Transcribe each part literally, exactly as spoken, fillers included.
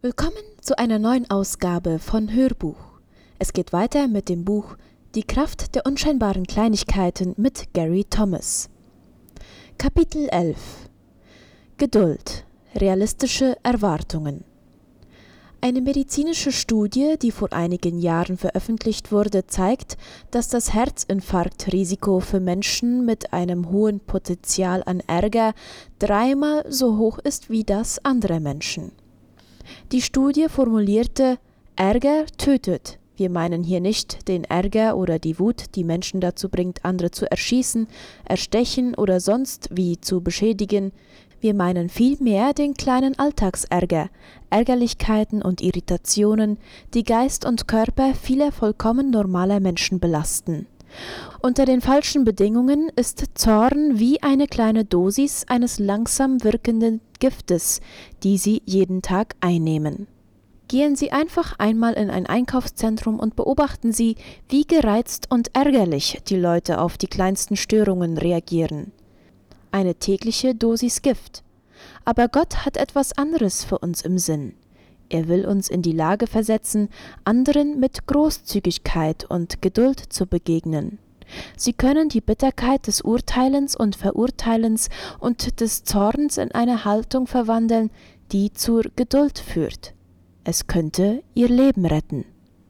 Willkommen zu einer neuen Ausgabe von Hörbuch. Es geht weiter mit dem Buch Die Kraft der unscheinbaren Kleinigkeiten mit Gary Thomas. Kapitel elf. Geduld. Realistische Erwartungen. Eine medizinische Studie, die vor einigen Jahren veröffentlicht wurde, zeigt, dass das Herzinfarktrisiko für Menschen mit einem hohen Potenzial an Ärger dreimal so hoch ist wie das anderer Menschen. Die Studie formulierte: Ärger tötet. Wir meinen hier nicht den Ärger oder die Wut, die Menschen dazu bringt, andere zu erschießen, erstechen oder sonst wie zu beschädigen. Wir meinen vielmehr den kleinen Alltagsärger, Ärgerlichkeiten und Irritationen, die Geist und Körper vieler vollkommen normaler Menschen belasten. Unter den falschen Bedingungen ist Zorn wie eine kleine Dosis eines langsam wirkenden Giftes, die Sie jeden Tag einnehmen. Gehen Sie einfach einmal in ein Einkaufszentrum und beobachten Sie, wie gereizt und ärgerlich die Leute auf die kleinsten Störungen reagieren. Eine tägliche Dosis Gift. Aber Gott hat etwas anderes für uns im Sinn. Er will uns in die Lage versetzen, anderen mit Großzügigkeit und Geduld zu begegnen. Sie können die Bitterkeit des Urteilens und Verurteilens und des Zorns in eine Haltung verwandeln, die zur Geduld führt. Es könnte ihr Leben retten.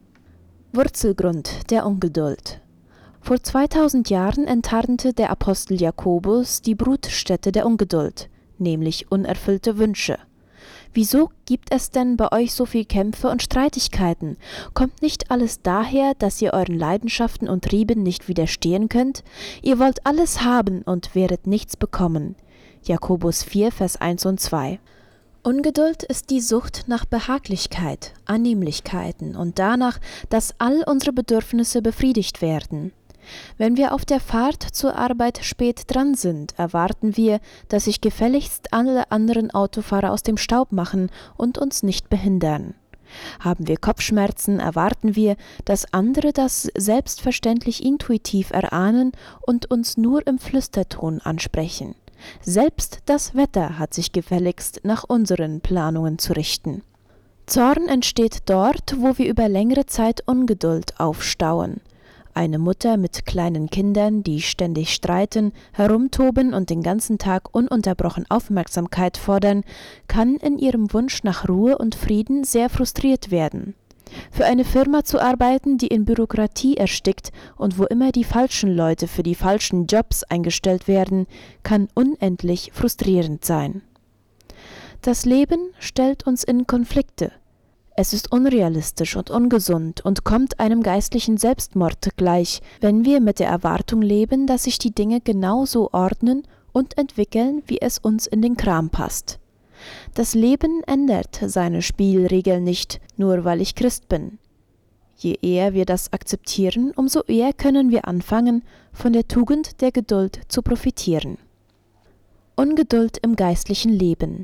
Wurzelgrund der Ungeduld. Vor zweitausend Jahren enttarnte der Apostel Jakobus die Brutstätte der Ungeduld, nämlich unerfüllte Wünsche. Wieso gibt es denn bei euch so viel Kämpfe und Streitigkeiten? Kommt nicht alles daher, dass ihr euren Leidenschaften und Trieben nicht widerstehen könnt? Ihr wollt alles haben und werdet nichts bekommen. Jakobus vier, Vers eins und zwei. Ungeduld ist die Sucht nach Behaglichkeit, Annehmlichkeiten und danach, dass all unsere Bedürfnisse befriedigt werden. Wenn wir auf der Fahrt zur Arbeit spät dran sind, erwarten wir, dass sich gefälligst alle anderen Autofahrer aus dem Staub machen und uns nicht behindern. Haben wir Kopfschmerzen, erwarten wir, dass andere das selbstverständlich intuitiv erahnen und uns nur im Flüsterton ansprechen. Selbst das Wetter hat sich gefälligst nach unseren Planungen zu richten. Zorn entsteht dort, wo wir über längere Zeit Ungeduld aufstauen. Eine Mutter mit kleinen Kindern, die ständig streiten, herumtoben und den ganzen Tag ununterbrochen Aufmerksamkeit fordern, kann in ihrem Wunsch nach Ruhe und Frieden sehr frustriert werden. Für eine Firma zu arbeiten, die in Bürokratie erstickt und wo immer die falschen Leute für die falschen Jobs eingestellt werden, kann unendlich frustrierend sein. Das Leben stellt uns in Konflikte. Es ist unrealistisch und ungesund und kommt einem geistlichen Selbstmord gleich, wenn wir mit der Erwartung leben, dass sich die Dinge genau so ordnen und entwickeln, wie es uns in den Kram passt. Das Leben ändert seine Spielregeln nicht, nur weil ich Christ bin. Je eher wir das akzeptieren, umso eher können wir anfangen, von der Tugend der Geduld zu profitieren. Ungeduld im geistlichen Leben.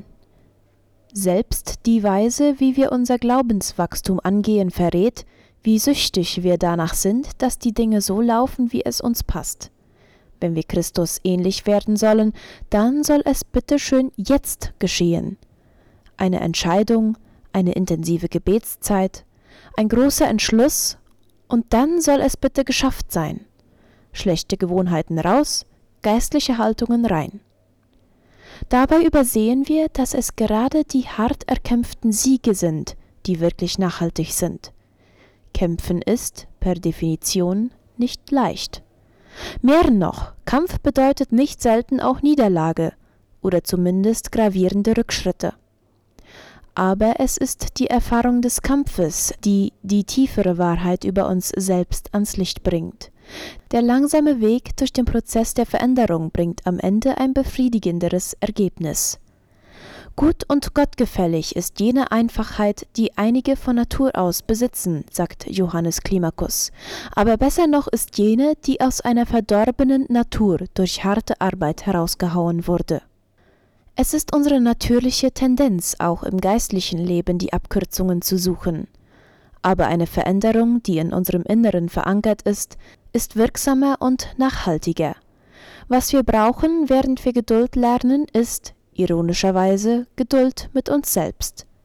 Selbst die Weise, wie wir unser Glaubenswachstum angehen, verrät, wie süchtig wir danach sind, dass die Dinge so laufen, wie es uns passt. Wenn wir Christus ähnlich werden sollen, dann soll es bitte schön jetzt geschehen. Eine Entscheidung, eine intensive Gebetszeit, ein großer Entschluss und dann soll es bitte geschafft sein. Schlechte Gewohnheiten raus, geistliche Haltungen rein. Dabei übersehen wir, dass es gerade die hart erkämpften Siege sind, die wirklich nachhaltig sind. Kämpfen ist, per Definition, nicht leicht. Mehr noch, Kampf bedeutet nicht selten auch Niederlage oder zumindest gravierende Rückschritte. Aber es ist die Erfahrung des Kampfes, die die tiefere Wahrheit über uns selbst ans Licht bringt. Der langsame Weg durch den Prozess der Veränderung bringt am Ende ein befriedigenderes Ergebnis. Gut und gottgefällig ist jene Einfachheit, die einige von Natur aus besitzen, sagt Johannes Climacus. Aber besser noch ist jene, die aus einer verdorbenen Natur durch harte Arbeit herausgehauen wurde. Es ist unsere natürliche Tendenz, auch im geistlichen Leben die Abkürzungen zu suchen. Aber eine Veränderung, die in unserem Inneren verankert ist, ist wirksamer und nachhaltiger. Was wir brauchen, während wir Geduld lernen, ist, ironischerweise, Geduld mit uns selbst.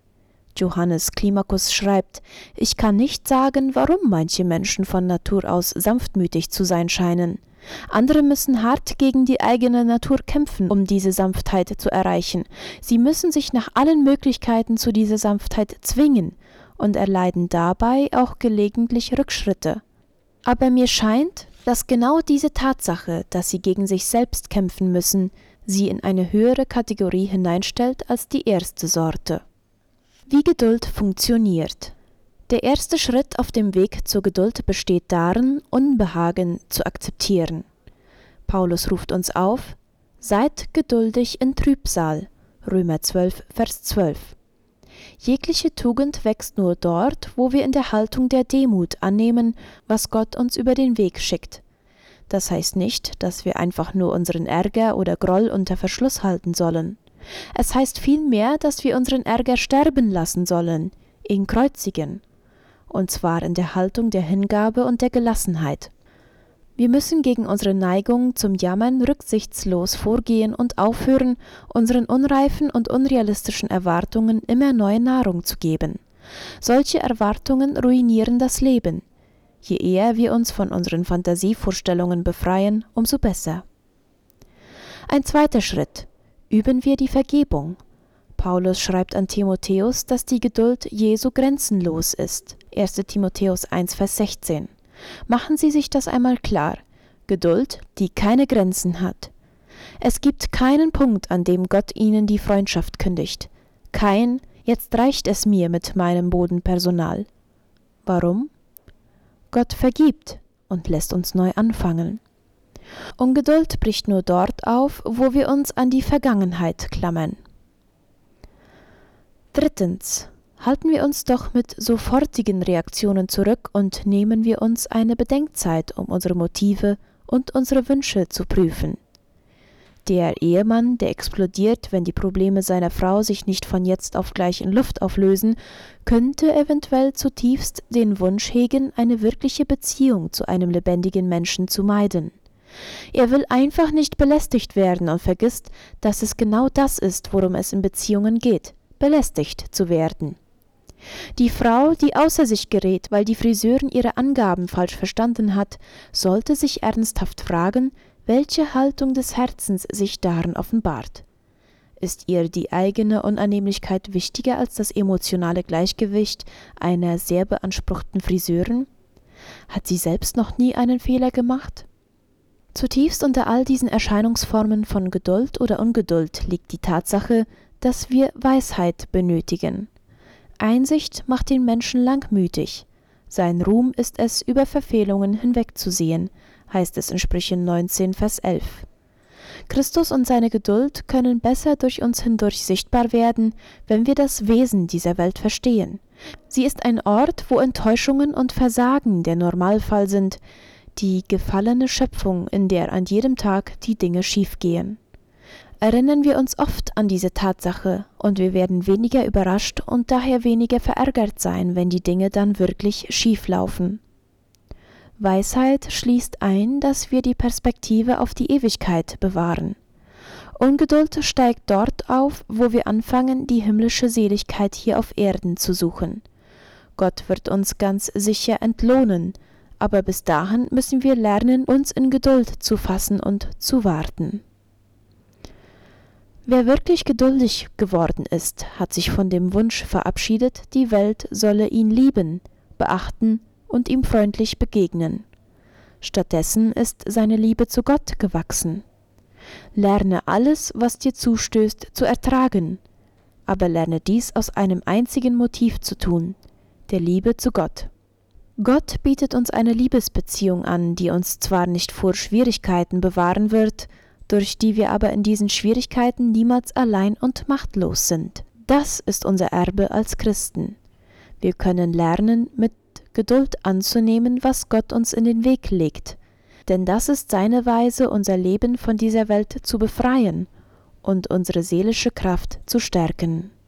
Johannes Climacus schreibt: Ich kann nicht sagen, warum manche Menschen von Natur aus sanftmütig zu sein scheinen. Andere müssen hart gegen die eigene Natur kämpfen, um diese Sanftheit zu erreichen. Sie müssen sich nach allen Möglichkeiten zu dieser Sanftheit zwingen und erleiden dabei auch gelegentlich Rückschritte. Aber mir scheint, dass genau diese Tatsache, dass sie gegen sich selbst kämpfen müssen, sie in eine höhere Kategorie hineinstellt als die erste Sorte. Wie Geduld funktioniert. Der erste Schritt auf dem Weg zur Geduld besteht darin, Unbehagen zu akzeptieren. Paulus ruft uns auf: Seid geduldig in Trübsal. Römer zwölf, Vers zwölf. Jegliche Tugend wächst nur dort, wo wir in der Haltung der Demut annehmen, was Gott uns über den Weg schickt. Das heißt nicht, dass wir einfach nur unseren Ärger oder Groll unter Verschluss halten sollen. Es heißt vielmehr, dass wir unseren Ärger sterben lassen sollen, ihn kreuzigen. Und zwar in der Haltung der Hingabe und der Gelassenheit. Wir müssen gegen unsere Neigung zum Jammern rücksichtslos vorgehen und aufhören, unseren unreifen und unrealistischen Erwartungen immer neue Nahrung zu geben. Solche Erwartungen ruinieren das Leben. Je eher wir uns von unseren Fantasievorstellungen befreien, umso besser. Ein zweiter Schritt: Üben wir die Vergebung. Paulus schreibt an Timotheus, dass die Geduld Jesu grenzenlos ist. erster Timotheus eins, Vers sechzehn. Machen Sie sich das einmal klar. Geduld, die keine Grenzen hat. Es gibt keinen Punkt, an dem Gott Ihnen die Freundschaft kündigt. Kein, jetzt reicht es mir mit meinem Bodenpersonal. Warum? Gott vergibt und lässt uns neu anfangen. Ungeduld bricht nur dort auf, wo wir uns an die Vergangenheit klammern. Drittens. Halten wir uns doch mit sofortigen Reaktionen zurück und nehmen wir uns eine Bedenkzeit, um unsere Motive und unsere Wünsche zu prüfen. Der Ehemann, der explodiert, wenn die Probleme seiner Frau sich nicht von jetzt auf gleich in Luft auflösen, könnte eventuell zutiefst den Wunsch hegen, eine wirkliche Beziehung zu einem lebendigen Menschen zu meiden. Er will einfach nicht belästigt werden und vergisst, dass es genau das ist, worum es in Beziehungen geht: belästigt zu werden. Die Frau, die außer sich gerät, weil die Friseurin ihre Angaben falsch verstanden hat, sollte sich ernsthaft fragen, welche Haltung des Herzens sich darin offenbart. Ist ihr die eigene Unannehmlichkeit wichtiger als das emotionale Gleichgewicht einer sehr beanspruchten Friseurin? Hat sie selbst noch nie einen Fehler gemacht? Zutiefst unter all diesen Erscheinungsformen von Geduld oder Ungeduld liegt die Tatsache, dass wir Weisheit benötigen. Einsicht macht den Menschen langmütig. Sein Ruhm ist es, über Verfehlungen hinwegzusehen, heißt es in Sprüche neunzehn, Vers elf. Christus und seine Geduld können besser durch uns hindurch sichtbar werden, wenn wir das Wesen dieser Welt verstehen. Sie ist ein Ort, wo Enttäuschungen und Versagen der Normalfall sind, die gefallene Schöpfung, in der an jedem Tag die Dinge schiefgehen. Erinnern wir uns oft an diese Tatsache und wir werden weniger überrascht und daher weniger verärgert sein, wenn die Dinge dann wirklich schief laufen. Weisheit schließt ein, dass wir die Perspektive auf die Ewigkeit bewahren. Ungeduld steigt dort auf, wo wir anfangen, die himmlische Seligkeit hier auf Erden zu suchen. Gott wird uns ganz sicher entlohnen, aber bis dahin müssen wir lernen, uns in Geduld zu fassen und zu warten. Wer wirklich geduldig geworden ist, hat sich von dem Wunsch verabschiedet, die Welt solle ihn lieben, beachten und ihm freundlich begegnen. Stattdessen ist seine Liebe zu Gott gewachsen. Lerne alles, was dir zustößt, zu ertragen, aber lerne dies aus einem einzigen Motiv zu tun, der Liebe zu Gott. Gott bietet uns eine Liebesbeziehung an, die uns zwar nicht vor Schwierigkeiten bewahren wird, durch die wir aber in diesen Schwierigkeiten niemals allein und machtlos sind. Das ist unser Erbe als Christen. Wir können lernen, mit Geduld anzunehmen, was Gott uns in den Weg legt, denn das ist seine Weise, unser Leben von dieser Welt zu befreien und unsere seelische Kraft zu stärken.